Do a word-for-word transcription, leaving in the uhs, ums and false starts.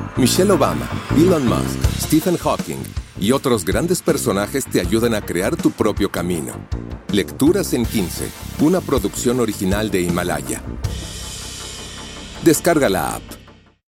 Michelle Obama, Elon Musk, Stephen Hawking y otros grandes personajes te ayudan a crear tu propio camino. Lecturas en quince, una producción original de Himalaya. Descarga la app.